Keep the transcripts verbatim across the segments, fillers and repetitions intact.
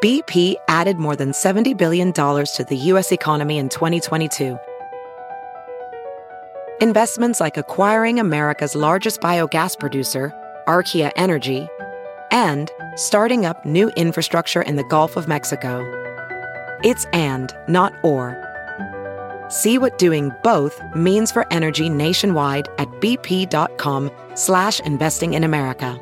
B P added more than seventy billion dollars to the U S economy in twenty twenty-two. Investments like acquiring America's largest biogas producer, Archaea Energy, and starting up new infrastructure in the Gulf of Mexico. It's and, not or. See what doing both means for energy nationwide at bp.com slash investing in America.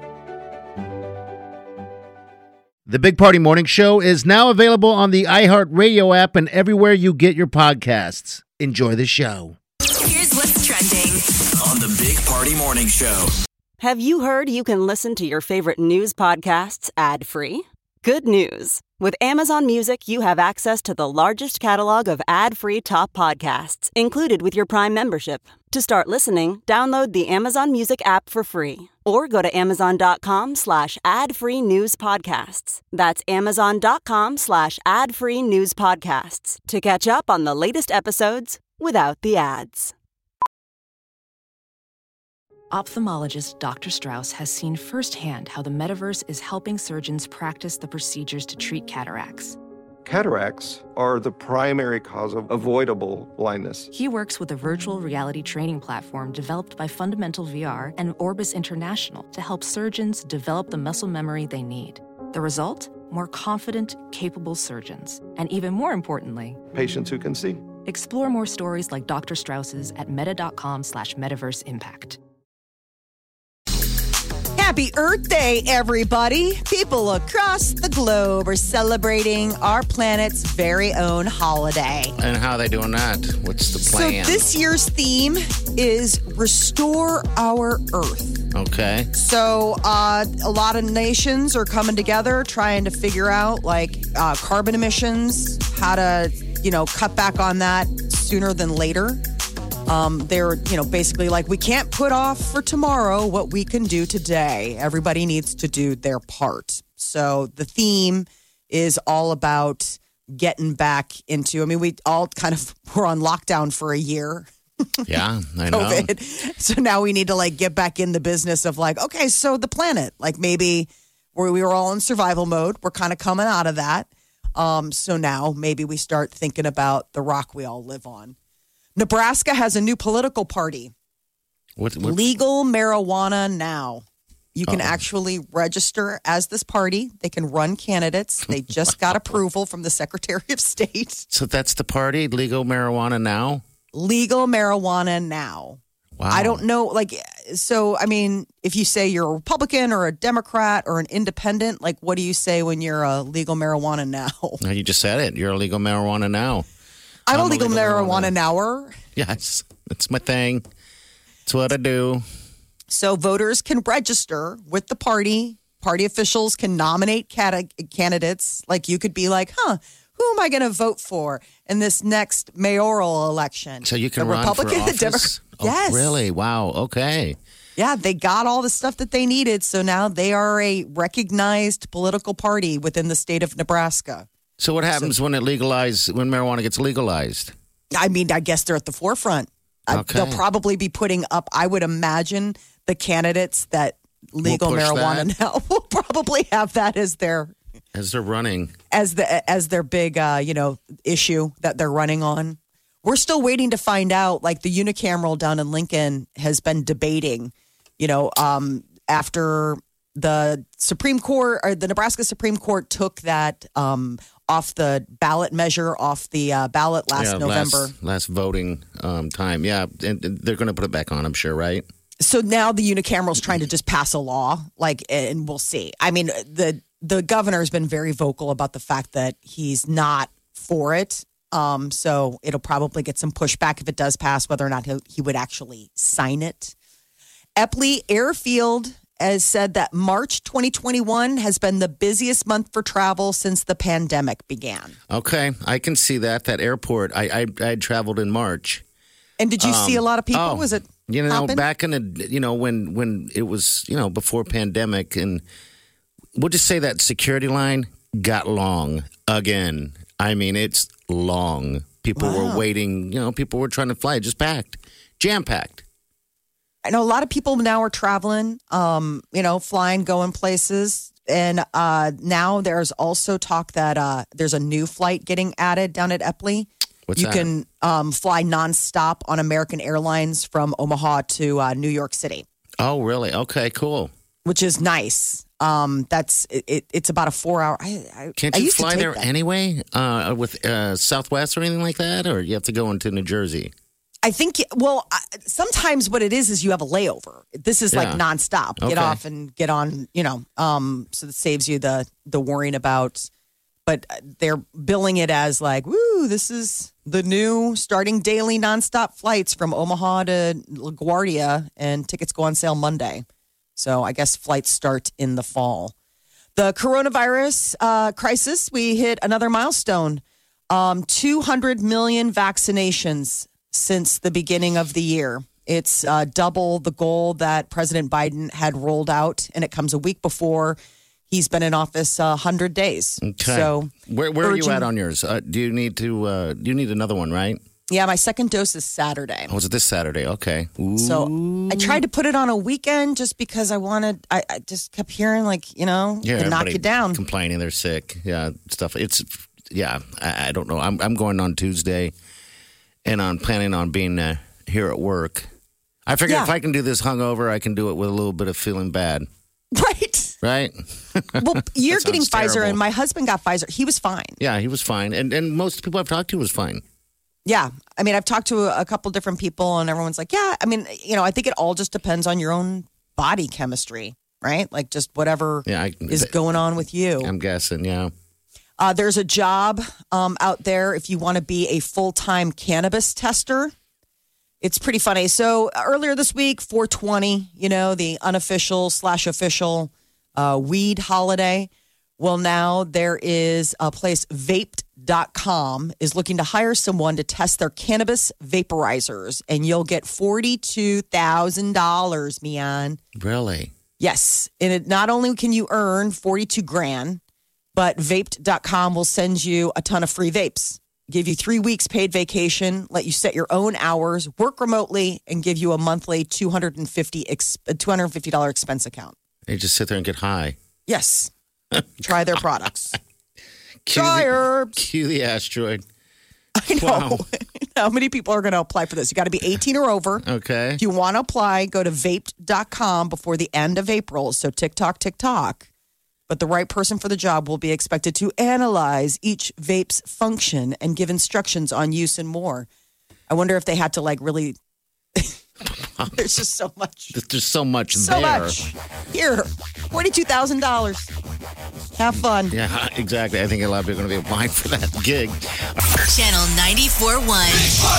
The Big Party Morning Show is now available on the iHeartRadio app and everywhere you get your podcasts. Enjoy the show. Here's what's trending on the Big Party Morning Show. Have you heard you can listen to your favorite news podcasts ad-free? Good news. With Amazon Music, you have access to the largest catalog of ad-free top podcasts included with your Prime membership. To start listening, download the Amazon Music app for free or go to amazon.com slash ad-free news podcasts. That's amazon.com slash ad-free news podcasts to catch up on the latest episodes without the ads. Ophthalmologist Doctor Strauss has seen firsthand how the metaverse is helping surgeons practice the procedures to treat cataracts. Cataracts are the primary cause of avoidable blindness. He works with a virtual reality training platform developed by Fundamental V R and Orbis International to help surgeons develop the muscle memory they need. The result? More confident, capable surgeons. And even more importantly, patients who can see. Explore more stories like Doctor Strauss's at meta.com slash metaverse impact. Happy Earth Day, everybody! People across the globe are celebrating our planet's very own holiday. And how are they doing that? What's the plan? So this year's theme is Restore Our Earth. Okay. So uh, a lot of nations are coming together trying to figure out, like, uh, carbon emissions, how to, you know, cut back on that sooner than later. Um, they're, you know, basically like, we can't put off for tomorrow what we can do today. Everybody needs to do their part. So the theme is all about getting back into, I mean, we all kind of were on lockdown for a year. Yeah, I know. COVID. So now we need to like get back in the business of like, okay, so the planet, like maybe where we were all in survival mode, we're kind of coming out of that. Um, so now maybe we start thinking about the rock we all live on. Nebraska has a new political party. What, what? Legal marijuana now. You can Uh-oh. actually register as this party. They can run candidates. They just got approval from the Secretary of State. So that's the party, legal marijuana now? Legal marijuana now. Wow. I don't know. Like, so, I mean, if you say you're a Republican or a Democrat or an independent, like, what do you say when you're a legal marijuana now? No, you just said it. You're a legal marijuana now. I'm, I'm a legal, legal marijuana, marijuana nower. Yes, that's my thing. It's what I do. So voters can register with the party. Party officials can nominate cat- candidates. Like you could be like, huh, who am I going to vote for in this next mayoral election? So you can the run Republican, for office? The Democrat. Oh, yes. Really? Wow. Okay. Yeah, they got all the stuff that they needed. So now they are a recognized political party within the state of Nebraska. So what happens so, when it legalized, when marijuana gets legalized? I mean, I guess they're at the forefront. Okay. They'll probably be putting up, I would imagine, the candidates that legal we'll marijuana that. now will probably have that as their as they're running as the as their big uh, you know issue that they're running on. We're still waiting to find out. Like the unicameral down in Lincoln has been debating, you know, um, after the Supreme Court or the Nebraska Supreme Court took that um, off the ballot measure off the uh, ballot last yeah, November. Last, last voting um, time. Yeah. And, and they're going to put it back on, I'm sure, right? So now the unicameral's trying to just pass a law, like, and we'll see. I mean, the the governor's been very vocal about the fact that he's not for it. Um, so it'll probably get some pushback if it does pass, whether or not he, he would actually sign it. Eppley Airfield has said that March twenty twenty-one has been the busiest month for travel since the pandemic began. Okay, I can see that. That airport, I I, I had traveled in March. And did you um, see a lot of people? Oh, was it you know hopping? back in the you know when when it was you know before pandemic, and we'll just say that security line got long again. I mean, it's long. People Wow. were waiting. You know, people were trying to fly. Just packed, jam packed. I know a lot of people now are traveling, um, you know, flying, going places. And uh, now there's also talk that uh, there's a new flight getting added down at Eppley. What's you that? can um, fly nonstop on American Airlines from Omaha to uh, New York City, Oh, really? Okay, cool. which is nice. Um, that's it, it, it's about a four hour. I, I, Can't I you used to fly take there that. anyway uh, with uh, Southwest or anything like that? Or you have to go into New Jersey? I think, well, I, sometimes what it is is you have a layover. This is like Yeah. nonstop. Get Okay. off and get on, you know, um, so that saves you the the worrying about. But they're billing it as like, woo, this is the new starting daily nonstop flights from Omaha to LaGuardia, and tickets go on sale Monday. So I guess flights start in the fall. The coronavirus uh, crisis, we hit another milestone. Um, two hundred million vaccinations since the beginning of the year. It's uh, double the goal that President Biden had rolled out, and it comes a week before he's been in office uh, one hundred days. Okay. So where where are you urging- at on yours? Uh, do you need to? Uh, do you need another one? Right? Yeah, my second dose is Saturday. Oh, is it this Saturday? Okay. Ooh. So I tried to put it on a weekend just because I wanted, I, I just kept hearing like, you know, yeah, to knock everybody you down. complaining they're sick. Yeah, stuff. It's yeah. I, I don't know. I'm I'm going on Tuesday, and I'm planning on being uh, here at work. I figure Yeah. if I can do this hungover, I can do it with a little bit of feeling bad. Right. Right? Well, you're That getting sounds Pfizer terrible. and my husband got Pfizer. He was fine. Yeah, he was fine, and and most people I've talked to was fine. Yeah. I mean, I've talked to a, a couple different people and everyone's like, yeah, I mean, you know, I think it all just depends on your own body chemistry, right? Like just whatever Yeah, I, is going on with you. I'm guessing. Yeah. Uh, there's a job um, out there if you want to be a full-time cannabis tester. It's pretty funny. So earlier this week, four twenty, you know, the unofficial slash official uh, weed holiday. Well, now there is a place, vaped dot com, is looking to hire someone to test their cannabis vaporizers, and you'll get forty-two thousand dollars, Mian. Really? Yes. And it, not only can you earn forty-two grand, but vaped dot com will send you a ton of free vapes, give you three weeks paid vacation, let you set your own hours, work remotely, and give you a monthly two hundred fifty dollars ex- two hundred fifty dollars expense account. You just sit there and get high. Yes. Try their products. Cue Try the, herbs. cue the asteroid. I know. Wow. How many people are going to apply for this? You got to be eighteen or over. Okay. If you want to apply, go to vaped dot com before the end of April. So TikTok, TikTok. But the right person for the job will be expected to analyze each vape's function and give instructions on use and more. I wonder if they had to like really. There's just so much. There's so much So there. much. Here, forty-two thousand dollars. Have fun. Yeah, exactly. I think a lot of people are going to be applying for that gig. Channel ninety-four point one.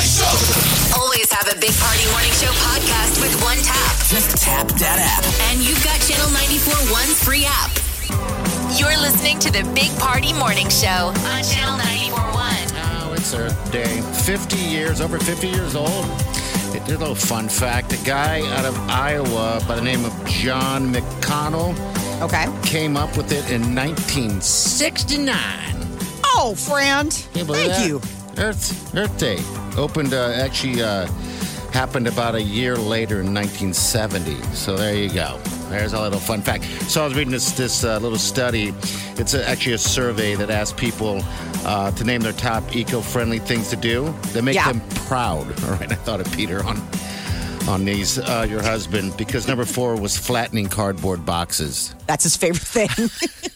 Always have a Big Party Morning Show podcast with one tap. Just tap that app. And you've got Channel ninety-four point one's free app. You're listening to the Big Party Morning Show on Channel ninety-four point one. Oh, it's Earth Day. fifty years, over fifty years old. Here's a little fun fact. A guy out of Iowa by the name of John McConnell Okay. came up with it in nineteen sixty-nine. Oh, friend. Can you believe Thank that? you. Earth, Earth Day opened, uh, actually uh, happened about a year later in nineteen seventy. So there you go. There's a little fun fact. So I was reading this this uh, little study. It's a, actually a survey that asks people uh, to name their top eco-friendly things to do that make Yeah. them proud. All right, I thought of Peter on on these, uh, your husband, because number four was flattening cardboard boxes. That's his favorite thing.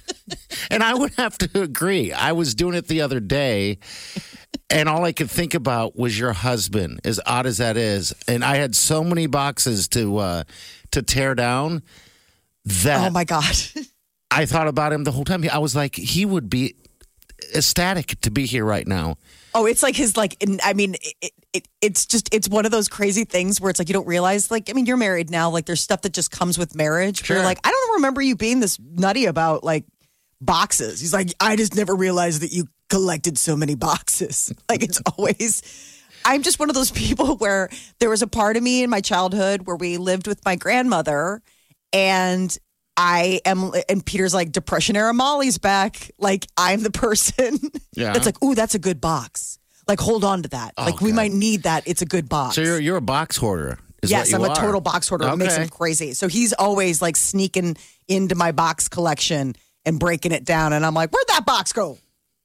And I would have to agree. I was doing it the other day, and all I could think about was your husband, as odd as that is. And I had so many boxes to uh, to tear down that Oh, my God. I thought about him the whole time. I was like, he would be ecstatic to be here right now. Oh, it's like his, like, in- I mean, it, it, it's just, it's one of those crazy things where it's like you don't realize, like, I mean, you're married now. Like, there's stuff that just comes with marriage. Where Sure. you're like, I don't remember you being this nutty about, like, boxes. He's like, I just never realized that you collected so many boxes. Like, it's always, I'm just one of those people where there was a part of me in my childhood where we lived with my grandmother, and I am, and Peter's like, Depression era Molly's back. Like, I'm the person Yeah. that's like, ooh, that's a good box. Like, hold on to that. Oh, like, we God. might need that. It's a good box. So you're you're a box hoarder. Is yes, what I'm you a are. total box hoarder. It makes Okay. him crazy. So he's always like sneaking into my box collection and breaking it down. And I'm like, where'd that box go?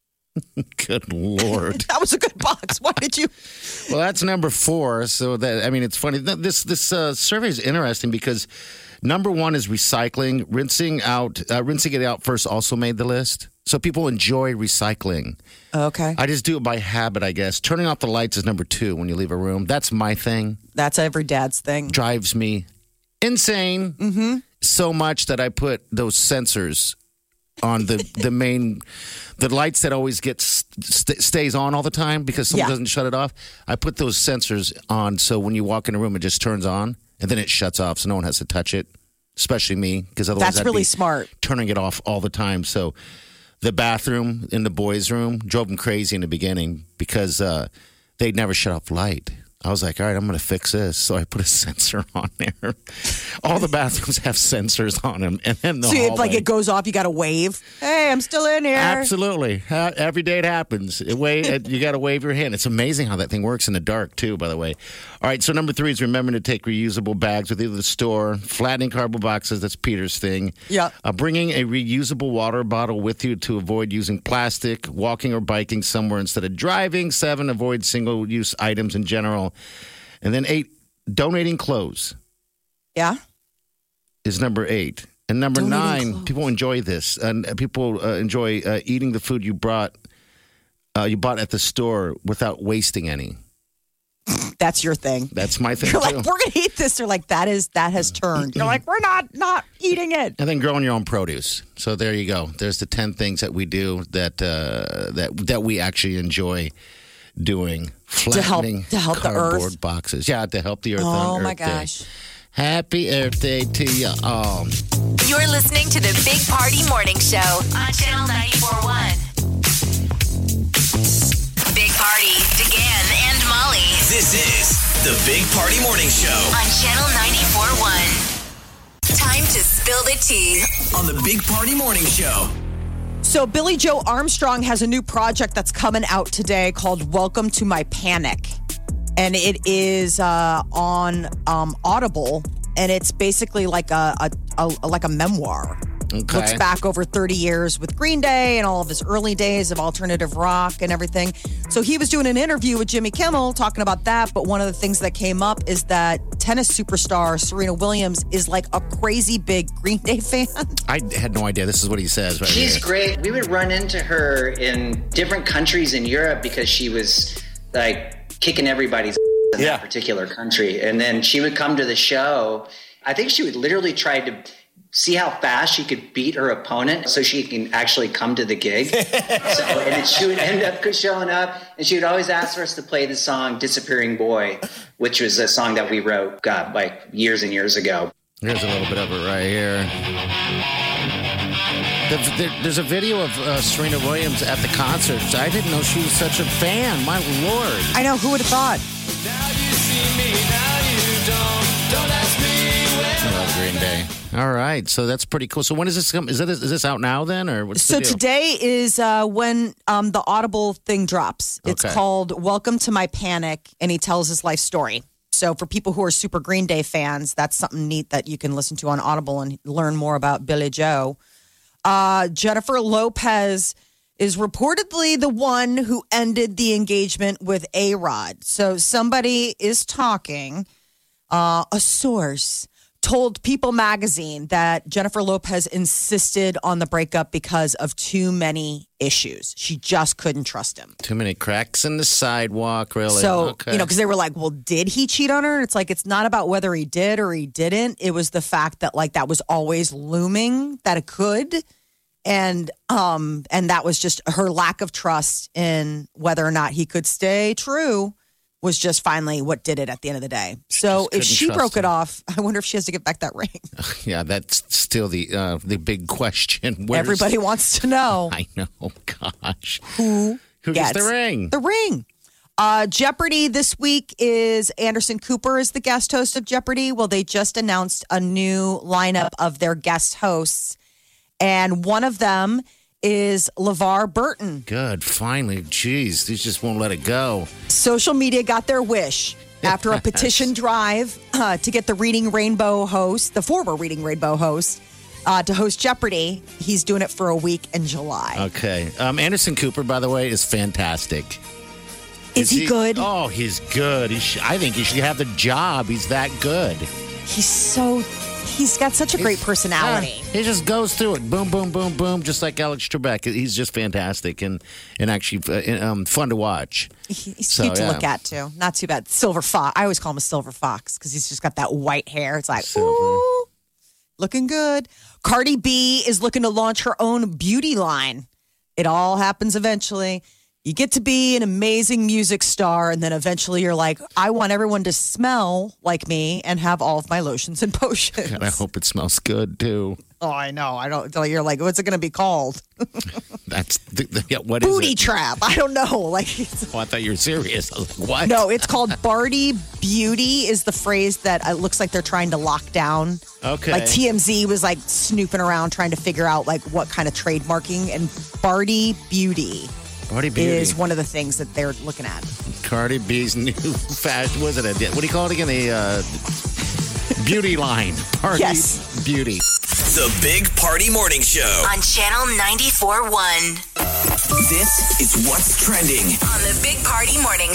Good Lord. That was a good box. Why did you? Well, that's number four. So that, I mean, it's funny. This, this uh, survey is interesting because number one is recycling. Rinsing out, uh, rinsing it out first also made the list. So people enjoy recycling. Okay. I just do it by habit, I guess. Turning off the lights is number two when you leave a room. That's my thing. That's every dad's thing. Drives me insane. Mm-hmm. So much that I put those sensors on the, the main, the lights that always get st- stays on all the time because someone Yeah. doesn't shut it off. I put those sensors on so when you walk in a room, it just turns on and then it shuts off so no one has to touch it, especially me because otherwise That's I'd really be smart. turning it off all the time. So the bathroom in the boys' room drove them crazy in the beginning because uh, they'd never shut off the light. I was like, all right, I'm going to fix this. So I put a sensor on there. All the bathrooms have sensors on them. And then the So if hallway. like it goes off, you got to wave. Hey, I'm still in here. Absolutely. Uh, every day it happens. It wa- you got to wave your hand. It's amazing how that thing works in the dark, too, by the way. All right, so number three is remembering to take reusable bags with you to the store. Flattening cardboard boxes, that's Peter's thing. Yeah. Uh, bringing a reusable water bottle with you to avoid using plastic. Walking or biking somewhere instead of driving. Seven, avoid single-use items in general. And then eight, donating clothes Yeah. is number eight. And number Donating nine, clothes. people enjoy this. And people uh, enjoy uh, eating the food you brought, uh, you bought at the store without wasting any. That's your thing. That's my thing You're too. like, we're going to eat this. They're like, that is, that has turned. You're like, we're not, not eating it. And then growing your own produce. So there you go. There's the ten things that we do that uh, that that we actually enjoy doing. To help- Flattening to help the cardboard earth. boxes. Yeah, to help the earth Oh on my Earth Day. gosh. Happy Earth Day to you all. You're listening to the Big Party Morning Show on Channel ninety-four point one. Big Party, DeGan and Molly This is the Big Party Morning Show on Channel ninety-four point one. Time to spill the tea. on the Big Party Morning Show. So Billy Joe Armstrong has a new project that's coming out today called Welcome to My Panic. And it is uh, on um, Audible. And it's basically like a, a, a like a memoir. Okay. Looks back over thirty years with Green Day and all of his early days of alternative rock and everything. So he was doing an interview with Jimmy Kimmel talking about that. But one of the things that came up is that tennis superstar Serena Williams is like a crazy big Green Day fan. I had no idea. This is what he says right She's here. great. We would run into her in different countries in Europe because she was like kicking everybody's in Yeah. that particular country. And then she would come to the show. I think she would literally try to see how fast she could beat her opponent so she can actually come to the gig. So, and then she would end up showing up, and she would always ask for us to play the song Disappearing Boy, which was a song that we wrote, God, like years and years ago. Here's a little bit of it right here. The- the- There's a video of uh, Serena Williams at the concert. I didn't know she was such a fan. My Lord. I know, who would have thought? I love Green Day. All right, so that's pretty cool. So when is this come? Is that is this out now then, or what's So the deal? today is uh, when um, the Audible thing drops. It's Okay. called Welcome to My Panic, and he tells his life story. So for people who are super Green Day fans, that's something neat that you can listen to on Audible and learn more about Billy Joe. Uh, Jennifer Lopez is reportedly the one who ended the engagement with A-Rod. So somebody is talking, uh, a source told People magazine that Jennifer Lopez insisted on the breakup because of too many issues. She just couldn't trust him. Too many cracks in the sidewalk, really. So, okay. you know, because they were like, well, did he cheat on her? It's like, it's not about whether he did or he didn't. It was the fact that, like, that was always looming that it could. And um, and that was just her lack of trust in whether or not he could stay true was just finally what did it at the end of the day. So Just if couldn't she trust broke it him. off, I wonder if she has to get back that ring. yeah, that's still the uh, the big question. Where's- Everybody wants to know I know. Gosh, who, who gets gets the ring? The ring. Uh, Jeopardy this week is Anderson Cooper is the guest host of Jeopardy. Well, they just announced a new lineup of their guest hosts. And one of them is LeVar Burton. Good, finally. Jeez, these just won't let it go. Social media got their wish after a petition drive uh, to get the Reading Rainbow host, the former Reading Rainbow host, uh, to host Jeopardy. He's doing it for a week in July. Okay. Um, Anderson Cooper, by the way, is fantastic. Is, is he, he good? Oh, he's good. He sh- I think he should have the job. He's that good. He's so... He's got such a great he's, personality. Yeah, he just goes through it. Boom, boom, boom, boom. Just like Alex Trebek. He's just fantastic and, and actually uh, um, fun to watch. He's so, cute to yeah. look at, too. Not too bad. Silver Fox. I always call him a Silver Fox because he's just got that white hair. It's like, Silver. ooh, looking good. Cardi B is looking to launch her own beauty line. It all happens eventually. You get to be an amazing music star, and then eventually you're like, I want everyone to smell like me and have all of my lotions and potions. God, I hope it smells good, too. Oh, I know. I don't. You're like, what's it going to be called? That's the, the, yeah, what Booty is it? trap. I don't know. Like, it's, oh, I thought you were serious. I was like, what? No, it's called Barty Beauty. Is the phrase that it looks like they're trying to lock down. Okay. Like T M Z was like snooping around trying to figure out like what kind of trademarking, and Barty Beauty. Cardi Beauty is one of the things that they're looking at. Cardi B's new fashion. Was it a? What do you call it again? The uh, beauty line. Party yes. Beauty. The Big Party Morning Show on Channel ninety-four point one. This is what's trending on the Big Party Morning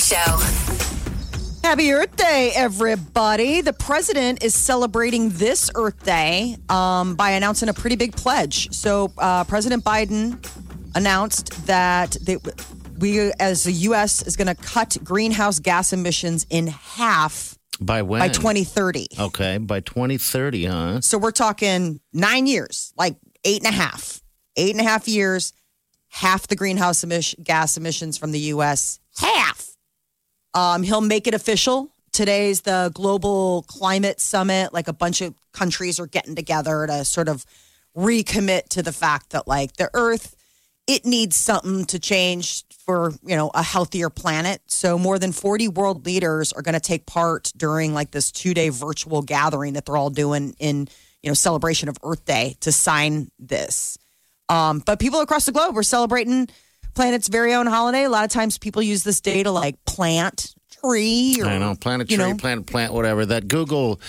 Show. Happy Earth Day, everybody. The president is celebrating this Earth Day um, by announcing a pretty big pledge. So uh, President Biden announced that they, we, as the U S, is going to cut greenhouse gas emissions in half by when? By twenty thirty. Okay, by twenty thirty, huh? So we're talking nine years, like eight and a half. Eight and a half years, half the greenhouse emission, gas emissions from the U S. Half. Um, he'll make it official. Today's the Global Climate Summit. Like a bunch of countries are getting together to sort of recommit to the fact that, like, the Earth, it needs something to change for, you know, a healthier planet. So more than forty world leaders are going to take part during like this two-day virtual gathering that they're all doing in, you know, celebration of Earth Day to sign this. Um, but people across the globe are celebrating planet's very own holiday. A lot of times people use this day to like plant a tree. Or, I know, plant a tree, you know. plant, plant, whatever. That Google,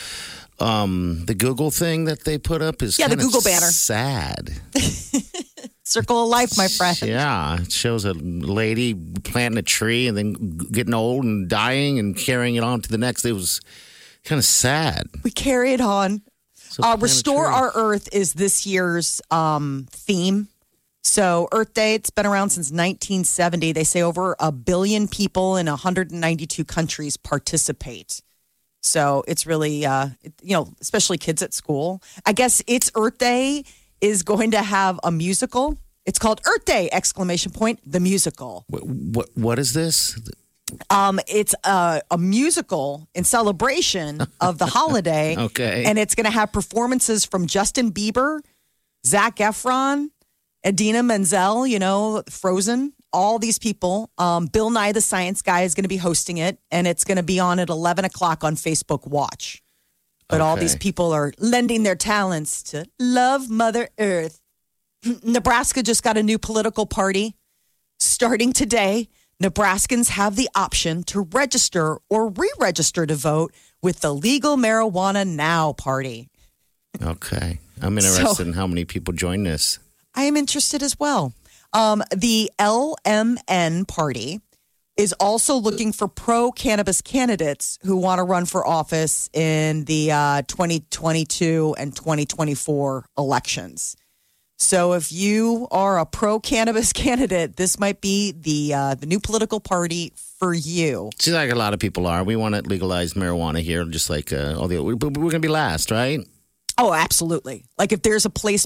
um, the Google thing that they put up is yeah, the kind of Google banner. Sad. Circle of life, my friend. Yeah, it shows a lady planting a tree and then getting old and dying and carrying it on to the next. It was kind of sad. We carry it on. So uh, Restore Our Earth is this year's um, theme. So Earth Day, it's been around since nineteen seventy. They say over a billion people in one hundred ninety-two countries participate. So it's really, uh, you know, especially kids at school. I guess it's Earth Day is going to have a musical. It's called Earth Day, exclamation point, the musical. What what, what is this? Um, it's a, a musical in celebration of the holiday. Okay. And it's going to have performances from Justin Bieber, Zac Efron, Idina Menzel, you know, Frozen, all these people. Um, Bill Nye the Science Guy is going to be hosting it, and it's going to be on at eleven o'clock on Facebook Watch. But all Okay. these people are lending their talents to love Mother Earth. Nebraska just got a new political party. Starting today, Nebraskans have the option to register or re-register to vote with the Legal Marijuana Now Party. Okay. I'm interested So- in how many people join this. I am interested as well. Um, the L M N Party is also looking for pro-cannabis candidates who want to run for office in the uh, twenty twenty-two and twenty twenty-four elections. So if you are a pro-cannabis candidate, this might be the uh, the new political party for you. Seems like a lot of people are. We want to legalize marijuana here, just like uh, all the. But we're going to be last, right? Oh, absolutely. Like if there's a place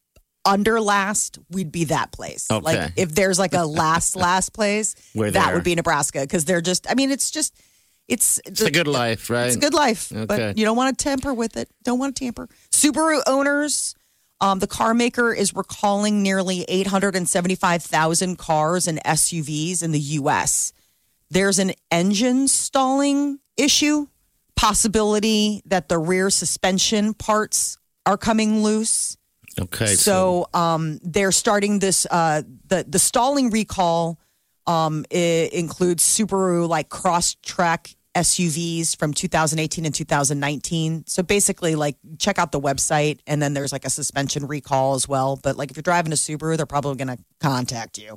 under last, we'd be that place. Okay. Like if there's like a last last place, We're that there. would be Nebraska because they're just. I mean, it's just it's It's a good life, right? It's a good life, Okay. but you don't want to tamper with it. Don't want to tamper. Subaru owners. Um, the car maker is recalling nearly eight hundred seventy-five thousand cars and S U Vs in the U S. There's an engine stalling issue, possibility that the rear suspension parts are coming loose. Okay. So um, they're starting this. Uh, the the stalling recall um, it includes Subaru like Crosstrek S U Vs from two thousand eighteen and two thousand nineteen. So basically, like, check out the website, and then there's like a suspension recall as well. But like, if you're driving a Subaru, they're probably going to contact you.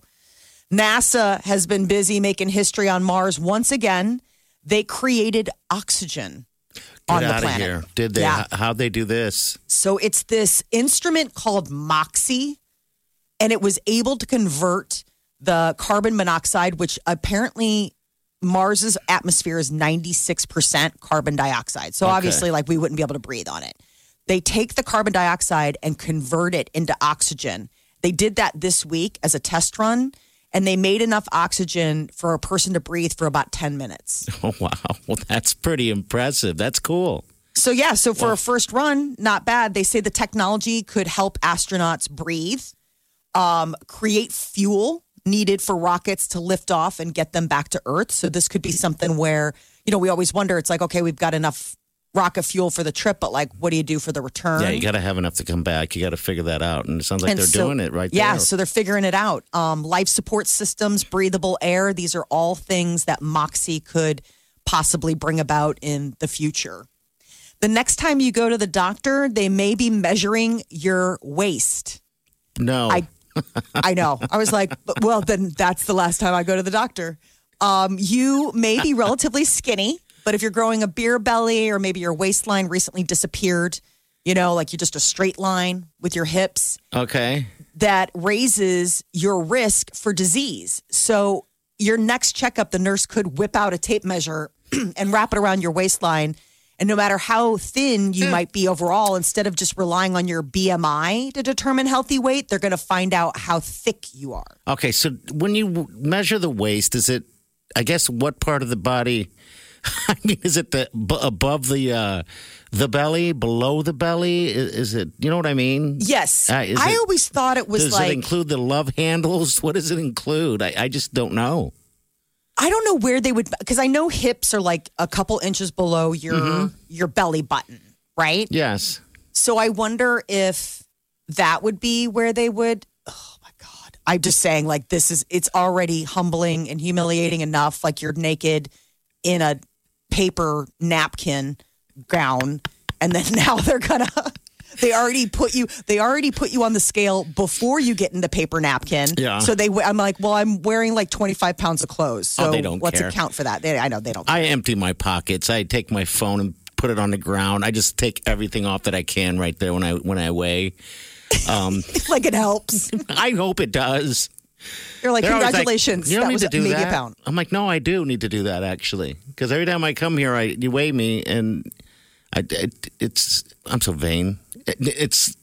NASA has been busy making history on Mars once again. They created oxygen on Get the out planet. of here. Did they? Yeah. How'd they do this? So it's this instrument called MOXIE, and it was able to convert the carbon monoxide, which apparently Mars's atmosphere is ninety-six percent carbon dioxide. So Okay. obviously, like, we wouldn't be able to breathe on it. They take the carbon dioxide and convert it into oxygen. They did that this week as a test run, and they made enough oxygen for a person to breathe for about ten minutes. Oh, wow. Well, that's pretty impressive. That's cool. So, yeah, so for a first run, not bad. They say the technology could help astronauts breathe, um, create fuel needed for rockets to lift off and get them back to Earth. So this could be something where, you know, we always wonder, it's like, okay, we've got enough rocket fuel for the trip, but like, what do you do for the return? Yeah, you got to have enough to come back. You got to figure that out. And it sounds like And they're so- doing it right yeah, there. so they're figuring it out. Um, life support systems, breathable air, these are all things that MOXIE could possibly bring about in the future. The next time you go to the doctor, they may be measuring your waist. No. I I know. I was like, well, then that's the last time I go to the doctor. Um, you may be relatively skinny, but if you're growing a beer belly or maybe your waistline recently disappeared, you know, like you're just a straight line with your hips, Okay. that raises your risk for disease. So your next checkup, the nurse could whip out a tape measure and wrap it around your waistline. And no matter how thin you might be overall, instead of just relying on your B M I to determine healthy weight, they're going to find out how thick you are. Okay. So when you w- measure the waist, is it, I guess, what part of the body? I mean, is it the b- above the uh, the belly, below the belly? Is, is it, you know what I mean? Yes. Uh, is I it- always thought it was Does like, it include the love handles? What does it include? I, I just don't know. I don't know where they would, because I know hips are like a couple inches below your Mm-hmm. your belly button, right? Yes. So I wonder if that would be where they would. Oh my God. I'm just saying, like, this is, it's already humbling and humiliating enough. Like, you're naked in a paper napkin gown, and then now they're gonna, they already put you, they already put you on the scale before you get into paper napkin. Yeah. So they, I'm like, well, I'm wearing like twenty-five pounds of clothes. So Oh, they don't what's care. it count for that? They, I know they don't. I empty my pockets. I take my phone and put it on the ground. I just take everything off that I can right there when I when I weigh. Um, like it helps. I hope it does. You're like, They're always congratulations. you don't that need was to do maybe that. a pound. I'm like, no, I do need to do that actually, because every time I come here, I you weigh me, and I it, it's I'm so vain. It, it's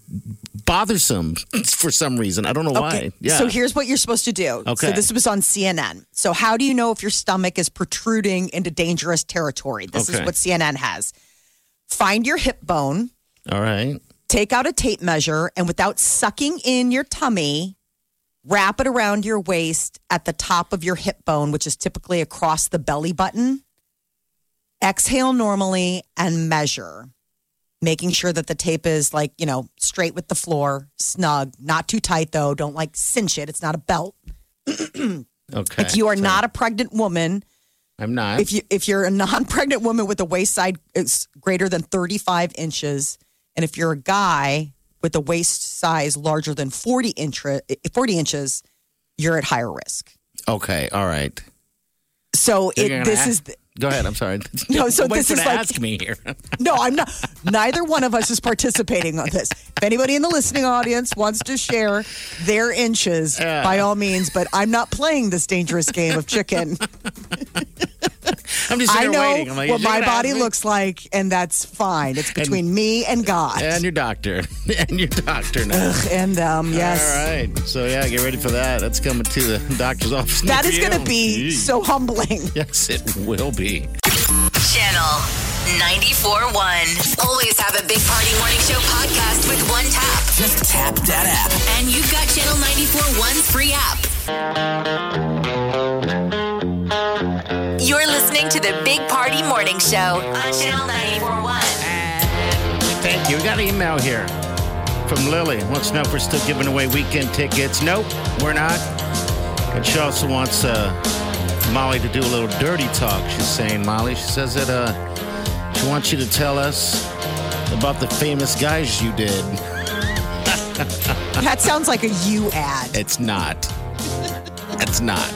bothersome for some reason. I don't know why. Yeah. So here's what you're supposed to do. Okay. So this was on C N N. So how do you know if your stomach is protruding into dangerous territory? This Okay. is what C N N has. Find your hip bone, All right. take out a tape measure, and without sucking in your tummy, wrap it around your waist at the top of your hip bone, which is typically across the belly button. Exhale normally and measure, making sure that the tape is like, you know, straight with the floor, snug, not too tight though. Don't like cinch it. It's not a belt. Okay. If you are So, not a pregnant woman, I'm not. if you if you're a non-pregnant woman with a waist size is greater than thirty-five inches, and if you're a guy with a waist size larger than forty inch, forty inches, you're at higher risk. Okay. All right. So You're it, gonna this ask- is the, Go ahead. I'm sorry. No, so Wait this for is to like- ask me here. no, I'm not. Neither one of us is participating on this. If anybody in the listening audience wants to share their inches, Yeah. by all means. But I'm not playing this dangerous game of chicken. I'm just I sitting know there waiting. I'm like, what is she my gonna body ask me? looks like, and that's fine. It's between me and God. And your doctor. And your doctor now. Ugh, and um, yes. All right. So, yeah, get ready for that. That's coming to the doctor's office. That near is going to you. be Jeez. so humbling. Yes, it will be. Channel ninety-four point one. Always have a Big Party Morning Show podcast with one tap. Just tap that app. And you've got Channel ninety-four point one's free app. You're listening to the Big Party Morning Show on Channel ninety-four point one. Thank you. We got an email here from Lily. Wants to know if we're still giving away weekend tickets. Nope, we're not. And she also wants uh, Molly to do a little dirty talk. She's saying, Molly, she says that uh, she wants you to tell us about the famous guys you did. That sounds like a you ad. It's not. It's not.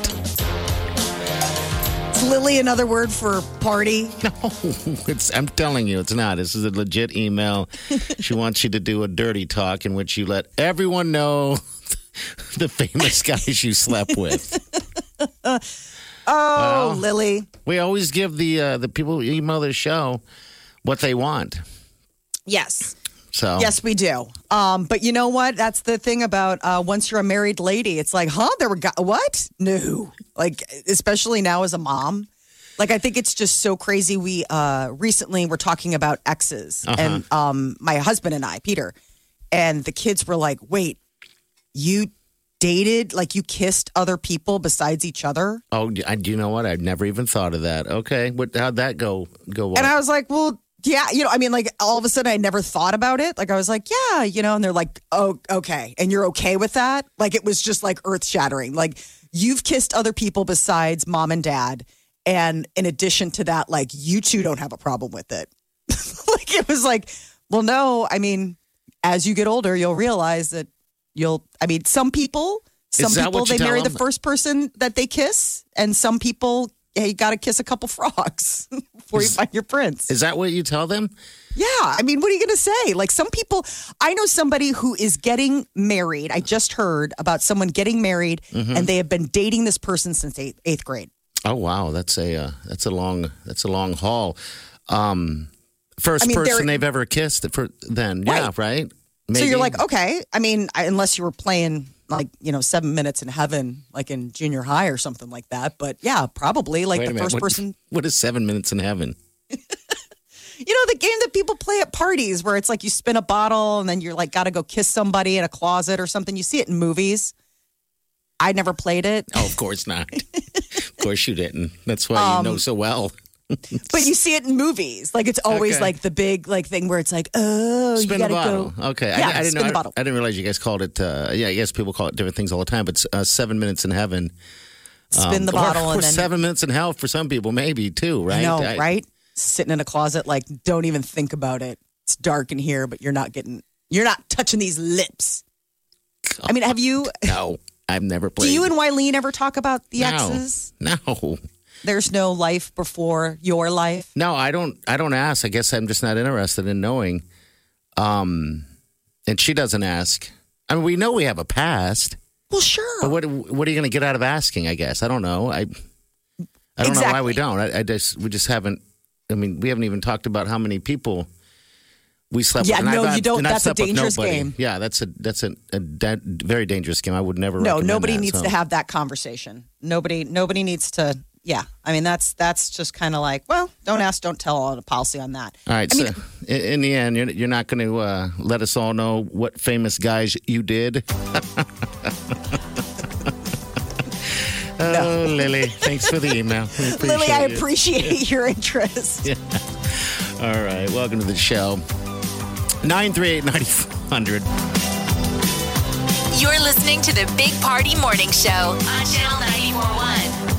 Is Lily another word for party? No, it's, I'm telling you, it's not. This is a legit email. She wants you to do a dirty talk in which you let everyone know the famous guys you slept with. Oh, Well, Lily. We always give the uh, the people who email the show what they want. Yes. So Yes, we do. Um, but you know what? That's the thing about uh, once you're a married lady, it's like, huh? There were go- what? No. Like, especially now as a mom. Like, I think it's just so crazy. We uh, recently were talking about exes, Uh-huh. and um, my husband and I, Peter, and the kids were like, "Wait, you dated? Like, you kissed other people besides each other?" Oh, I, do you know what? I've never even thought of that. Okay, what? How'd that go? Go? What? And I was like, well, yeah, you know, I mean, like all of a sudden I never thought about it. Like I was like, yeah, you know, and they're like, oh, okay. And you're okay with that? Like it was just like earth shattering. Like you've kissed other people besides mom and dad. And in addition to that, like you two don't have a problem with it. Like it was like, well, no, I mean, as you get older, you'll realize that you'll, I mean, some people, some Is that people, what you they tell marry the them? first person that they kiss. And some people, hey, you got to kiss a couple frogs before you find your prince. Is that what you tell them? Yeah. I mean, what are you going to say? Like some people, I know somebody who is getting married. I just heard about someone getting married Mm-hmm. and they have been dating this person since eighth, eighth grade. Oh wow, that's a uh, that's a long that's a long haul. Um, first I mean, person they're- they've ever kissed. For then, yeah, Right. right. So Maybe. you're like, okay. I mean, I, unless you were playing like, you know, seven minutes in heaven, like in junior high or something like that. But yeah, probably like Wait a the minute, first what- person. What is seven minutes in heaven? You know, the game that people play at parties where it's like you spin a bottle and then you're like, got to go kiss somebody in a closet or something. You see it in movies. I never played it. Oh, of course not. Of course you didn't. That's why you know so well. But you see it in movies. Like it's always Okay. like the big like thing where it's like, oh, Spin you the gotta bottle. go. Okay, Yeah, I, I didn't spin know. the bottle. I, I didn't realize you guys called it. Uh, yeah, I guess people call it different things all the time. But it's, uh, seven minutes in heaven. Spin the Um, or- bottle or, and then seven minutes in hell for some people, maybe too. Right? No, I- right? Sitting in a closet, like don't even think about it. It's dark in here, but you're not getting, you're not touching these lips. I mean, have you? No, I've never played. Do you and Wileen ever talk about the no, exes? No. There's no life before your life. No, I don't. I don't ask. I guess I'm just not interested in knowing. Um, and she doesn't ask. I mean, we know we have a past, Well, sure. but what what are you going to get out of asking? I guess I don't know. I I don't know why we Exactly. don't. I, I just we just haven't. I mean, we haven't even talked about how many people we slept Yeah, with. And no, I've- you don't. and I've That's a slept with dangerous nobody. game. Yeah, that's a that's a, a da- very dangerous game. I would never. No, recommend nobody that, needs so. to have that conversation. Nobody, nobody needs to. Yeah, I mean that's that's just kind of like, well, don't ask, don't tell on a policy on that. All right. I so mean, in, in the end, you're, you're not going to uh, let us all know what famous guys you did. Oh, Lily, thanks for the email. We appreciate Lily, I it. appreciate your interest. Yeah. All right. Welcome to the show. nine three eight, nine hundred. You're listening to the Big Party Morning Show on Channel ninety-four point one.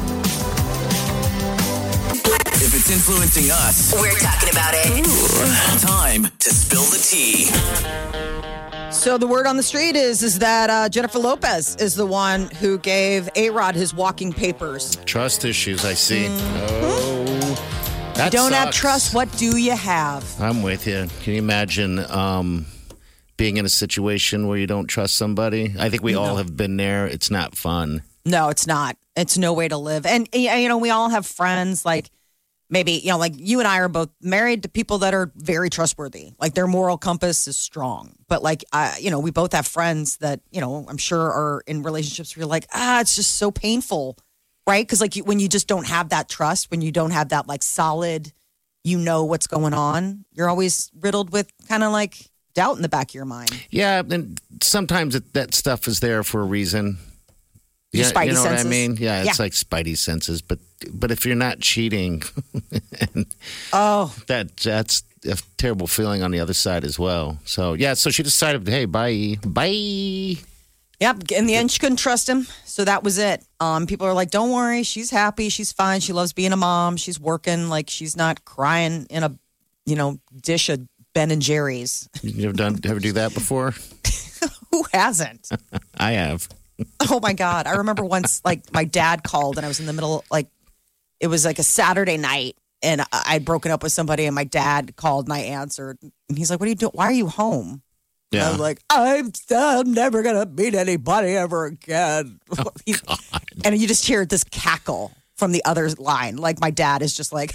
If it's influencing us, We're talking about it. time to spill the tea. So the word on the street is is that uh, Jennifer Lopez is the one who gave A-Rod his walking papers. Trust issues, I see. Oh, that Don't have sucks. trust. What do you have? I'm with you. Can you imagine um, being in a situation where you don't trust somebody? I think we all have been there. It's not fun. No, it's not. It's no way to live. And, you know, we all have friends like maybe, you know, like you and I are both married to people that are very trustworthy. Like their moral compass is strong. But like, uh, you know, we both have friends that, you know, I'm sure are in relationships where you're like, ah, it's just so painful. Right? Because like you, when you just don't have that trust, when you don't have that like solid, you know what's going on, you're always riddled with kind of like doubt in the back of your mind. Yeah, and sometimes it, that stuff is there for a reason. Your Yeah, spidey you know senses. what I mean? Yeah, it's Yeah. like spidey senses. But but if you're not cheating, Oh, that that's a terrible feeling on the other side as well. So yeah, so she decided, hey, bye, bye. Yep. In the end, she couldn't trust him. So that was it. Um, people are like, don't worry. She's happy. She's fine. She loves being a mom. She's working. Like, she's not crying in a, you know, dish of Ben and Jerry's. You ever done, ever do that before? Who hasn't? I have. Oh, my God. I remember once, like, my dad called and I was in the middle, like, it was like a Saturday night and I- I'd broken up with somebody and my dad called and I answered. And he's like, what are you doing? Why are you home? Yeah. I was like, I'm, I'm never going to meet anybody ever again. Oh, God. And you just hear this cackle from the other line. Like my dad is just like,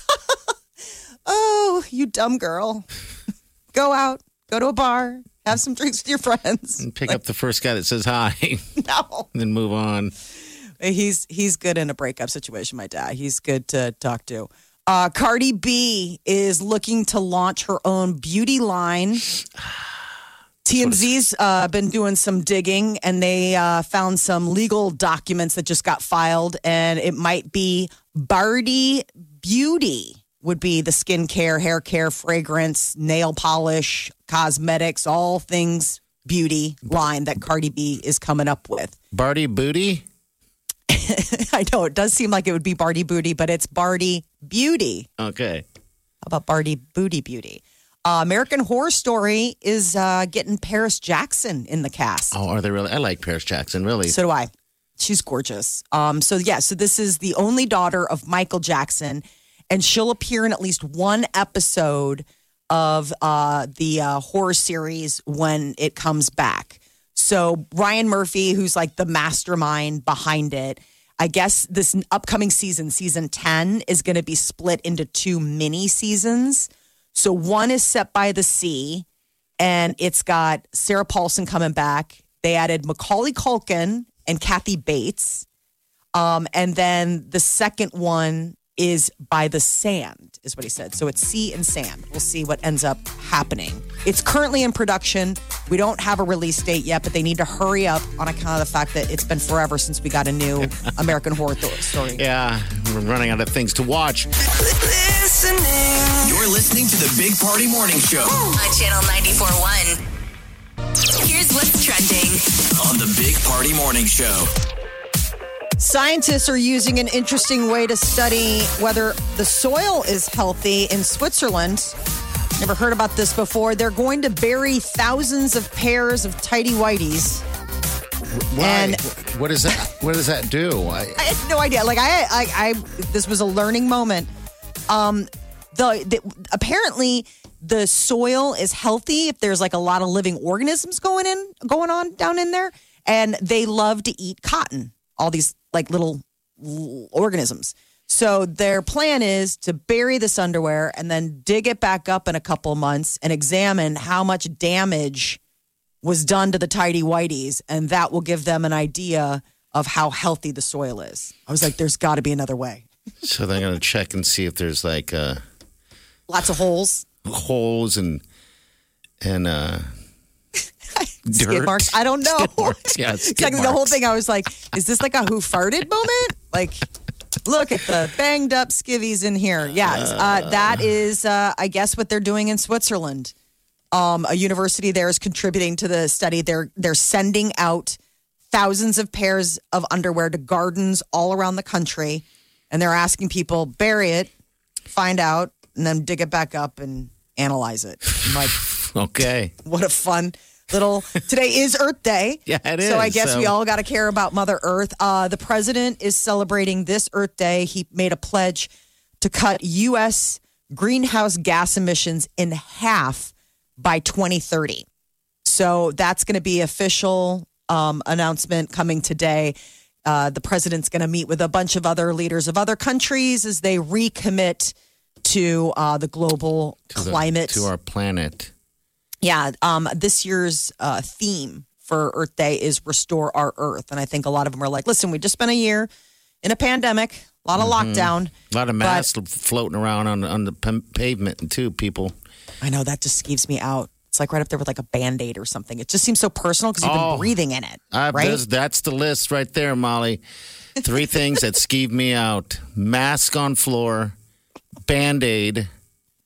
oh, you dumb girl. Go out, go to a bar, have some drinks with your friends. And pick like, up the first guy that says hi. No. And then move on. He's, he's good in a breakup situation, my dad. He's good to talk to. Uh, Cardi B is looking to launch her own beauty line. T M Z's uh, been doing some digging, and they uh, found some legal documents that just got filed, and it might be Bardi Beauty would be the skincare, hair care, fragrance, nail polish, cosmetics, all things beauty line that Cardi B is coming up with. Bardi Booty? I know, it does seem like it would be Bardi Booty, but it's Bardi Beauty. Okay. How about Bardi Booty Beauty? Uh, American Horror Story is uh, getting Paris Jackson in the cast. Oh, are they really? I like Paris Jackson, really. So do I. She's gorgeous. Um, so, yeah, so this is the only daughter of Michael Jackson, and she'll appear in at least one episode of uh, the uh, horror series when it comes back. So Ryan Murphy, who's like the mastermind behind it, I guess this upcoming season, season ten, is going to be split into two mini seasons. So one is Set by the Sea, and it's got Sarah Paulson coming back. They added Macaulay Culkin and Kathy Bates. Um, and then the second one is By the Sand, is what he said. So it's sea and sand. We'll see what ends up happening. It's currently in production. We don't have a release date yet, but they need to hurry up on account of the fact that it's been forever since we got a new American Horror Story. Yeah, we're running out of things to watch. Listening. You're listening to the Big Party Morning Show on Channel ninety-four point one. Here's what's trending on the Big Party Morning Show. Scientists are using an interesting way to study whether the soil is healthy in Switzerland. Never heard about this before. They're going to bury thousands of pairs of tighty whities. Why? And what does that? What does that do? I, I had no idea. Like I, I, I this was a learning moment. Um, the, the apparently the soil is healthy if there's like a lot of living organisms going in, going on down in there, and they love to eat cotton. All these like little organisms. So their plan is to bury this underwear and then dig it back up in a couple months and examine how much damage was done to the tidy whities, and that will give them an idea of how healthy the soil is. I was like, there's got to be another way. So they're going to check and see if there's like uh, lots of holes, holes and and uh, skid dirt. marks. I don't know. Skid marks. Yeah, skid exactly. The whole thing. I was like, is this like a who farted moment? Like, look at the banged up skivvies in here. Yeah, uh, that is, uh, I guess, what they're doing in Switzerland. Um, a university there is contributing to the study. They're they're sending out thousands of pairs of underwear to gardens all around the country, and they're asking people bury it, find out, and then dig it back up and analyze it. I'm like, okay, what a fun little. Today is Earth Day. Yeah, it is. So I guess so. we all got to care about Mother Earth. Uh, the president is celebrating this Earth Day. He made a pledge to cut U S greenhouse gas emissions in half by twenty thirty. So that's going to be official um, announcement coming today. Uh, the president's going to meet with a bunch of other leaders of other countries as they recommit to uh, the global to the, climate. to our planet. Yeah, um, this year's uh, theme for Earth Day is Restore Our Earth. And I think a lot of them are like, listen, we just spent a year in a pandemic, a lot of mm-hmm. lockdown. A lot of masks floating around on, on the p- pavement, too, people. I know, that just skeeves me out. It's like right up there with like a Band-Aid or something. It just seems so personal because you've oh, been breathing in it, uh, right? That's, that's the list right there, Molly. Three things that skeeve me out. Mask on floor, Band-Aid,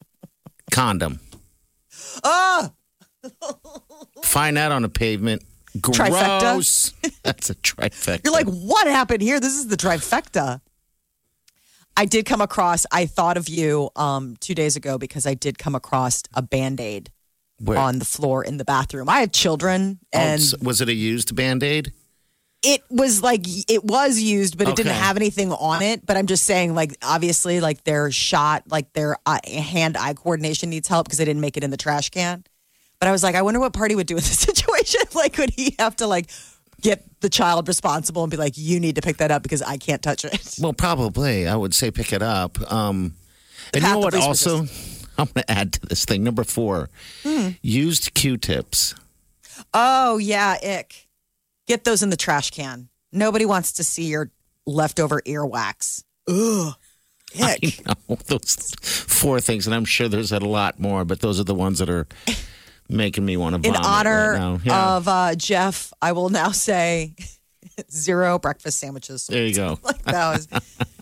condom. Oh! Find that on the pavement. Gross. That's a trifecta. You're like, what happened here? This is the trifecta. I did come across, I thought of you um, two days ago because I did come across a Band-Aid Where? on the floor in the bathroom. I have children, and Oh, was it a used Band-Aid? it was like, it was used, but it didn't Okay. have anything on it. But I'm just saying, like, obviously, like, their shot, like, their uh, hand-eye coordination needs help because they didn't make it in the trash can. But I was like, I wonder what Party would do in this situation. Like, would he have to, like, get the child responsible and be like, you need to pick that up because I can't touch it? Well, probably. I would say pick it up. Um, and you path know of what? least Also, resistance. I'm going to add to this thing. Number four, Hmm. used Q-tips. Oh, yeah, ick. Get those in the trash can. Nobody wants to see your leftover earwax. Ugh. I Ick. know those four things, and I'm sure there's a lot more, but those are the ones that are making me want to In vomit honor right now. Yeah. of uh, Jeff, I will now say zero breakfast sandwiches. There you go. Like that was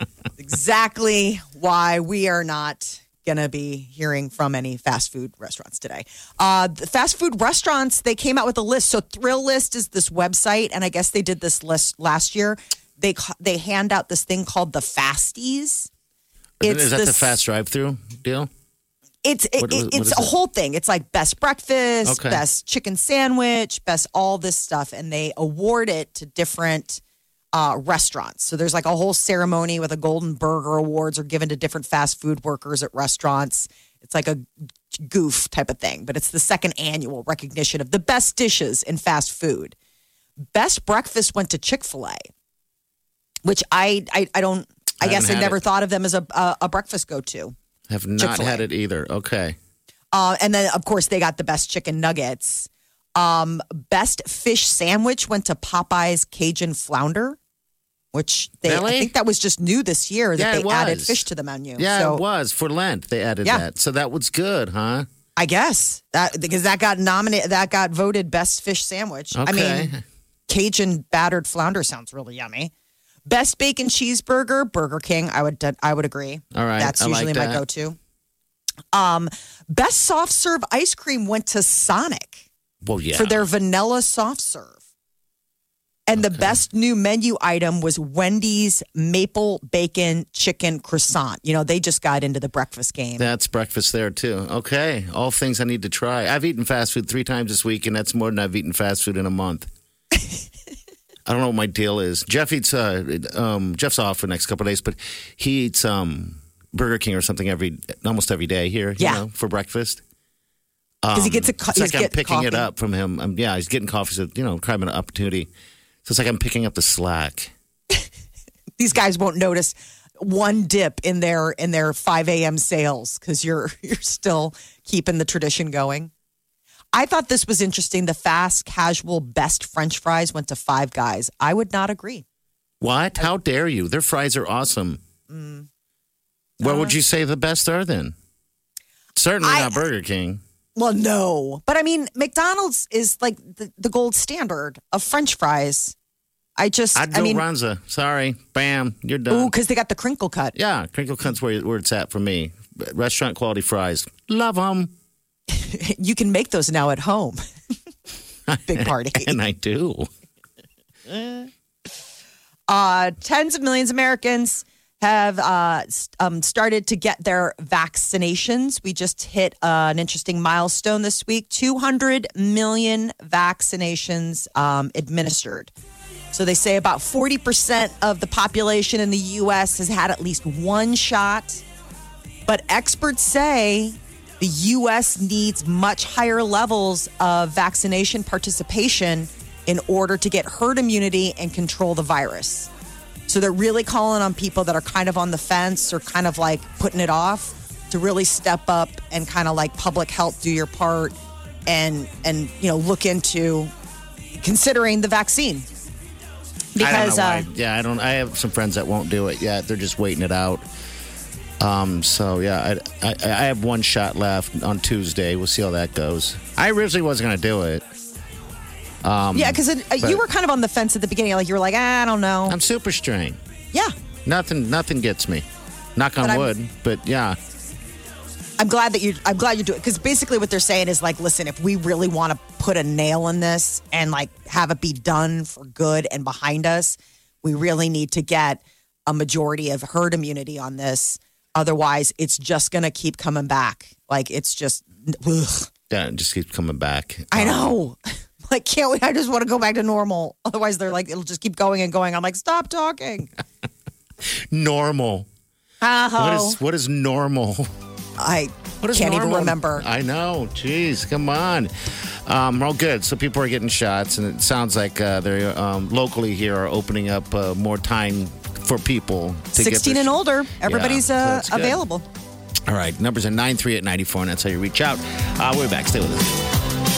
exactly why we are not going to be hearing from any fast food restaurants today. Uh, the fast food restaurants, they came out with a list. So Thrill List is this website, and I guess they did this list last year. They ca- they hand out this thing called the Fasties. Is that the this- fast drive-through deal? It's it, What- what- what it's is a it? whole thing. It's like best breakfast, Okay. best chicken sandwich, best all this stuff, and they award it to different uh, restaurants. So there's like a whole ceremony with a Golden Burger Awards are given to different fast food workers at restaurants. It's like a goof type of thing, but it's the second annual recognition of the best dishes in fast food. Best breakfast went to Chick-fil-A, which I I, I don't. I, I guess haven't I had never it. thought of them as a a, a breakfast go-to. Have not Chick-fil-A. had it either. Okay. Uh, and then, of course, they got the best chicken nuggets. Um, best fish sandwich went to Popeye's Cajun Flounder, which they Really? I think that was just new this year that Yeah, they it added was. fish to the menu. Yeah, so it was. For Lent, they added Yeah. that. So that was good, huh? I guess that because that got nominated, that got voted best fish sandwich. I Okay. mean, Cajun battered flounder sounds really yummy. Best bacon cheeseburger, Burger King. I would I would agree. All right, that's I like usually my that. go-to. Um, best soft serve ice cream went to Sonic. Well, yeah. For their vanilla soft serve. And the best new menu item was Wendy's maple bacon chicken croissant. You know, they just got into the breakfast game. That's breakfast there, too. Okay. All things I need to try. I've eaten fast food three times this week, and that's more than I've eaten fast food in a month. I don't know what my deal is. Jeff eats, uh, um, Jeff's off for the next couple of days, but he eats um, Burger King or something every almost every day here, you Yeah. know, for breakfast. Because he gets a co- It's he's like I'm getting picking it coffee. up from him. Um, yeah, he's getting coffee, so, you know, kind of an opportunity. So it's like I'm picking up the slack. These guys won't notice one dip in their in their five a.m. sales because you're you're still keeping the tradition going. I thought this was interesting. The fast casual best French fries went to Five Guys. I would not agree. What? How dare you? Their fries are awesome. Mm. Where Uh, would you say the best are then? Certainly I- not Burger King. Well, no. But I mean, McDonald's is like the, the gold standard of French fries. I just, I'd I go mean, Runza. Sorry. Bam. You're ooh, done. because they got the crinkle cut. Yeah, Crinkle Cut's where, where it's at for me. Restaurant quality fries. Love them. You can make those now at home. Big party. And I do. Uh, tens of millions of Americans have uh, s- um, started to get their vaccinations. We just hit uh, an interesting milestone this week. two hundred million vaccinations um, administered. So they say about forty percent of the population in the U S has had at least one shot. But experts say the U S needs much higher levels of vaccination participation in order to get herd immunity and control the virus. So they're really calling on people that are kind of on the fence or kind of like putting it off to really step up and kind of like public health, do your part and, and, you know, look into considering the vaccine. Because, I don't know uh, why. Yeah, I don't. I have some friends that won't do it yet. They're just waiting it out. Um. So yeah, I, I I have one shot left on Tuesday. We'll see how that goes. I originally wasn't going to do it. Um. yeah, because you were kind of on the fence at the beginning. Like you were like, ah, I don't know. I'm super strain. Yeah. Nothing. Nothing gets me. Knock on But I'm- wood. But yeah. I'm glad that you. I'm glad you do it because basically what they're saying is like, listen, if we really want to put a nail in this and like have it be done for good and behind us, we really need to get a majority of herd immunity on this. Otherwise, it's just going to keep coming back. Like it's just, ugh. Yeah, it just keeps coming back. I know. Like, can't we? I just want to go back to normal. Otherwise, they're like, it'll just keep going and going. I'm like, stop talking. Normal. Uh-huh. What is what is normal? I what is can't normal? even remember. I know. Jeez, come on. Um, well, good. So people are getting shots, and it sounds like uh, they're um, locally here are opening up uh, more time for people to sixteen get and their sh- older. Everybody's Yeah, so uh, that's good. available. All right. Numbers are nine three eight nine four, and that's how you reach out. Uh, we'll be back. Stay with us.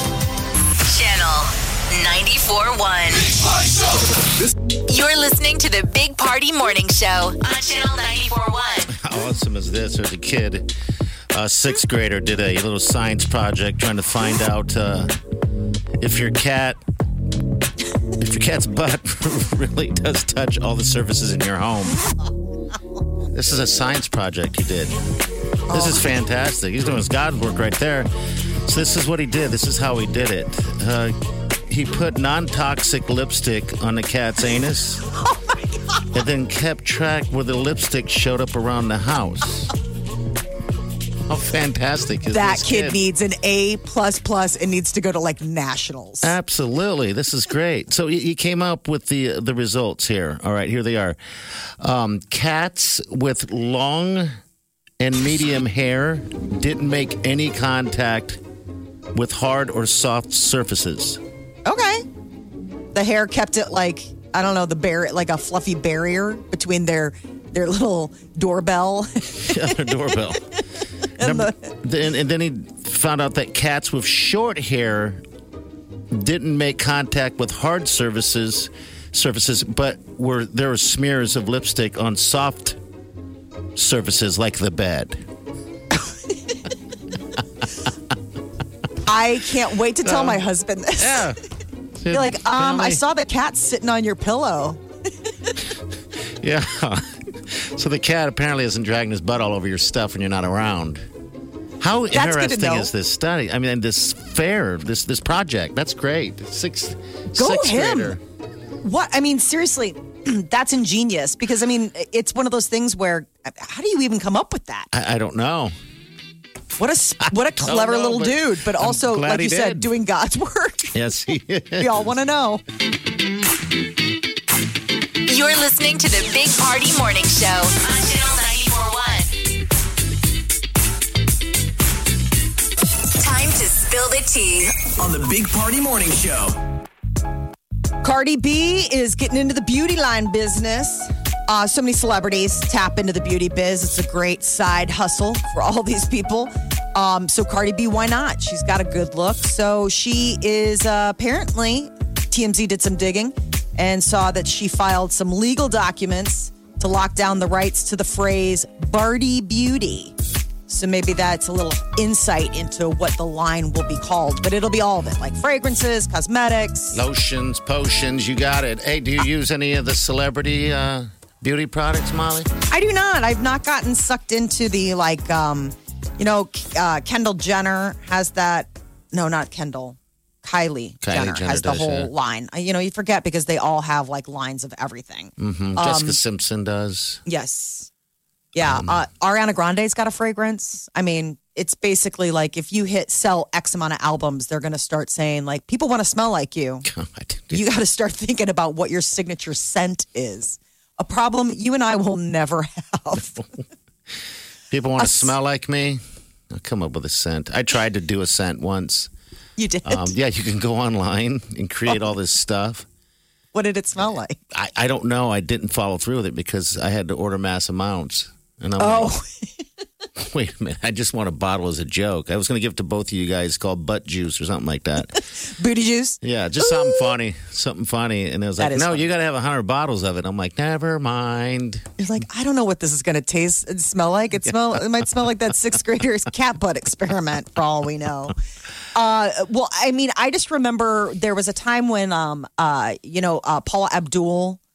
Channel ninety-four point one. You're listening to the Big Party Morning Show on Channel ninety-four point one. How awesome is this? There's a kid, a sixth grader, did a little science project trying to find out uh, if your cat, if your cat's butt really does touch all the surfaces in your home. This is a science project he did. This is fantastic. He's doing his God work right there. So this is what he did. This is how he did it. Uh, he put non-toxic lipstick on the cat's anus. Oh my God. And then kept track where the lipstick showed up around the house. How fantastic is That this kid, kid needs an A plus plus and needs to go to like nationals. Absolutely. This is great. So he he came up with the the results here. All right, here they are. Um, cats with long and medium hair didn't make any contact with hard or soft surfaces. Okay. The hair kept it like, I don't know, the bar- like a fluffy barrier between their their little doorbell. Yeah, their doorbell. and, Number, the- and, and then he found out that cats with short hair didn't make contact with hard surfaces, surfaces, but were there were smears of lipstick on soft surfaces like the bed. I can't wait to tell my husband this. Yeah. You're like, um, I saw the cat sitting on your pillow. Yeah. So the cat apparently isn't dragging his butt all over your stuff when you're not around. How That's good to interesting know. is this study? I mean, this fair, this this project. That's great. Six, Go sixth him. grader. What? I mean, seriously, that's ingenious because, I mean, it's one of those things where how do you even come up with that? I, I don't know. What a s- what a clever know, little but dude, but I'm also, glad like he you said, did. doing God's work. Yes, he is. We all want to know. You're listening to the Big Party Morning Show on Channel ninety-four point one. Time to spill the tea. On the Big Party Morning Show. Cardi B is getting into the beauty line business. Uh, so many celebrities tap into the beauty biz. It's a great side hustle for all these people. Um, so Cardi B, why not? She's got a good look. So she is uh, apparently, T M Z did some digging and saw that she filed some legal documents to lock down the rights to the phrase Barty Beauty. So maybe that's a little insight into what the line will be called. But it'll be all of it, like fragrances, cosmetics. Lotions, potions, you got it. Hey, do you use any of the celebrity uh, beauty products, Molly? I do not. I've not gotten sucked into the, like, um, you know, uh, Kendall Jenner has that. No, not Kendall. Kylie, Kylie Jenner, Jenner has the does, whole yeah. line. Uh, You know, you forget because they all have, like, lines of everything. Mm-hmm. Um, Jessica Simpson does. Yes. Yeah. Um, uh, Ariana Grande's got a fragrance. I mean, it's basically like if you hit sell X amount of albums, they're going to start saying, like, people want to smell like you. God. You got to start thinking about what your signature scent is. A problem you and I will never have. People want A to s- smell like me? I'll come up with a scent. I tried to do a scent once. You did. Um, yeah, you can go online and create all this stuff. What did it smell like? I, I don't know. I didn't follow through with it because I had to order mass amounts. And I'm Oh, like, wait a minute. I just want a bottle as a joke. I was going to give it to both of you guys called butt juice or something like that. booty juice. Yeah, just something funny. Something funny. And it was That like, is no, funny. you got to have one hundred bottles of it. I'm like, never mind. You're like, I don't know what this is going to taste and smell like. It smell. It might smell like that sixth grader's cat butt experiment, for all we know. Uh, well, I mean, I just remember there was a time when, um, uh, you know, uh, Paula Abdul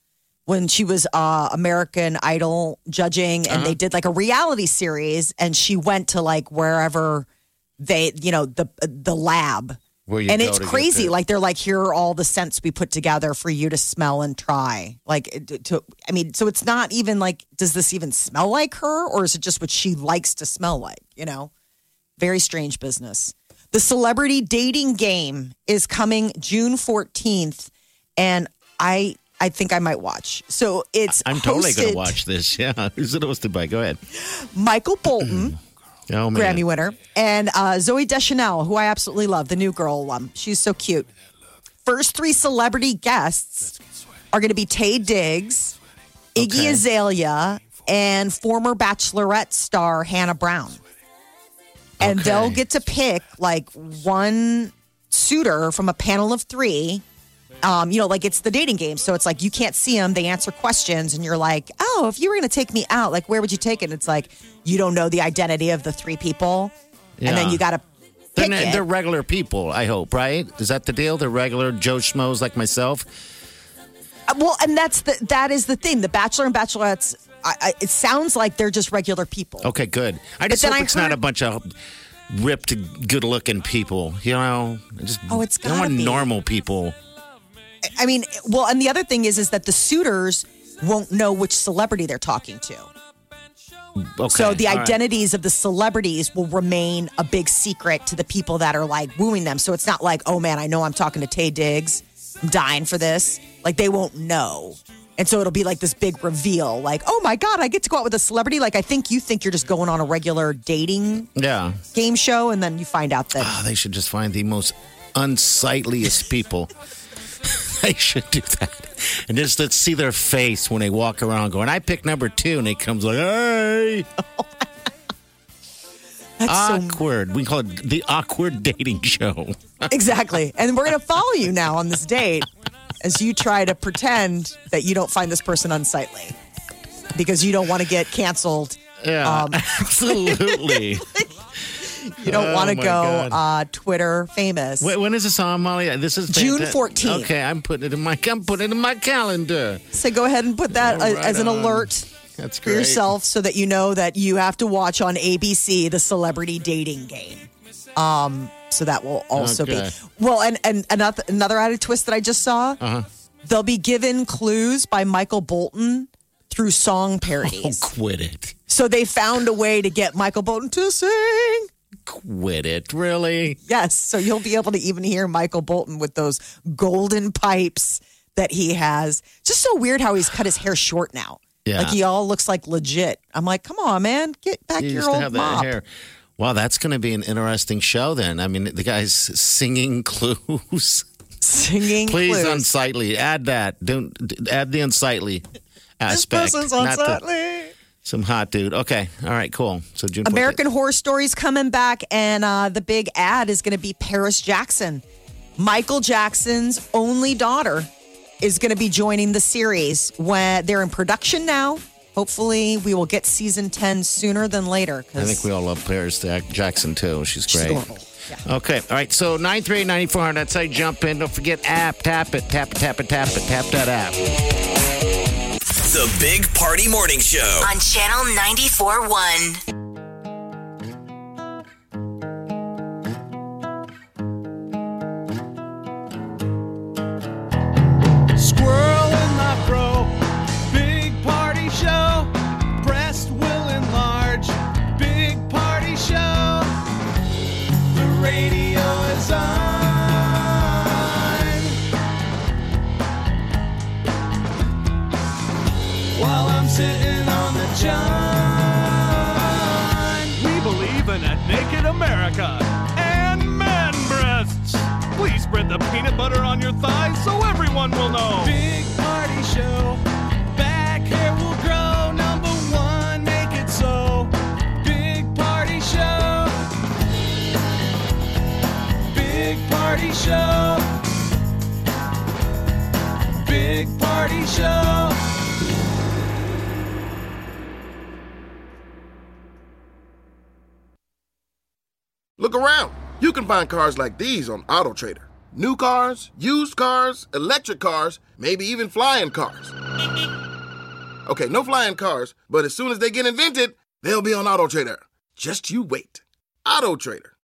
when she was uh, American Idol judging, and Uh-huh. they did like a reality series, and she went to like wherever they, you know, the the lab. Where you and go it's to get crazy. the- Like they're like, here are all the scents we put together for you to smell and try. Like, it- to I mean, so it's not even like, does this even smell like her, or is it just what she likes to smell like? You know, very strange business. The celebrity dating game is coming June fourteenth, and I I think I might watch. So it's I'm totally going hosted- to watch this. Yeah. Who's it hosted by? Go ahead. Michael Bolton. Oh, man. Grammy winner, and uh, Zoe Deschanel, who I absolutely love, the new girl alum. She's so cute. First three celebrity guests are going to be Taye Diggs, Iggy Okay. Azalea, and former Bachelorette star Hannah Brown. And Okay. they'll get to pick like one suitor from a panel of three. Um, you know, like it's the dating game. So it's like you can't see them. They answer questions, and you're like, oh, if you were going to take me out, like, where would you take it? And it's like, you don't know the identity of the three people. And then Yeah. you got to They're, pick not- it. they're regular people, I hope, right? Is that the deal? They're regular Joe Schmoes like myself? Uh, Well, and that's the that is the thing. The Bachelor and Bachelorettes, I, I, it sounds like they're just regular people. Okay, good. I just then hope I it's not heard- a bunch of ripped, good-looking people. You know? I just, Oh, it's I don't want gotta be. normal people. I mean, well, and the other thing is, is that the suitors won't know which celebrity they're talking to. Okay, So the all right. identities of the celebrities will remain a big secret to the people that are like wooing them. So it's not like, oh man, I know I'm talking to Taye Diggs. I'm dying for this. Like they won't know. And so it'll be like this big reveal, like, oh my God, I get to go out with a celebrity. Like I think you think you're just going on a regular dating Yeah. game show, and then you find out that Oh, they should just find the most unsightliest people. They should do that. And just let's see their face when they walk around going, I picked number two. And he comes like, hey. that's so Awkward. We call it the awkward dating show. exactly. And we're going to follow you now on this date as you try to pretend that you don't find this person unsightly because you don't want to get canceled. Yeah, Um, absolutely. You don't Oh, want to my go God. uh, Twitter famous. Wait, when is this on, Molly? This is June fanta- fourteenth. Okay, I'm putting it in my I'm putting it in my calendar. So go ahead and put that All uh, right as an on. alert That's for great. yourself so that you know that you have to watch on A B C the celebrity dating game. Um, so that will also Okay. be well, and and another another added twist that I just saw. Uh-huh. They'll be given clues by Michael Bolton through song Oh, parodies. quit it. So they found a way to get Michael Bolton to sing. Quit it. Really? Yes, so you'll be able to even hear Michael Bolton with those golden pipes that he has. Just so weird how he's cut his hair short now. Yeah. Like he all looks like legit. I'm like, come on, man, get back You your used to old have mop. that hair. Wow, that's going to be an interesting show then. I mean, the guy's singing clues. Singing Please, clues. unsightly. Add that. Don't d- add the unsightly This aspect. person's not the- unsightly. some hot dude. Okay. All right, cool. So June American Horror Stories coming back, and uh, the big ad is going to be Paris Jackson. Michael Jackson's only daughter is going to be joining the series. When they're in production now. Hopefully, we will get season ten sooner than later. I think we all love Paris Jackson too. She's She's great. adorable. Yeah. Okay. All right. So nine three eight, nine four hundred. That's how you jump in. Don't forget app. Tap it. Tap it. Tap it. Tap it. Tap that app. The Big Party Morning Show. On Channel ninety-four point one. Squirrel in my fro. Big party show. Breast will enlarge. Big party show. The radio is on. While I'm sitting on the john. We believe in a naked America and man breasts. Please spread the peanut butter on your thighs so everyone will know. Big party show. Back hair will grow. Number one, make it so. Big party show. Big party show. Big party show. Look around. You can find cars like these on AutoTrader. New cars, used cars, electric cars, maybe even flying cars. Okay, no flying cars, but as soon as they get invented, they'll be on AutoTrader. Just you wait. AutoTrader.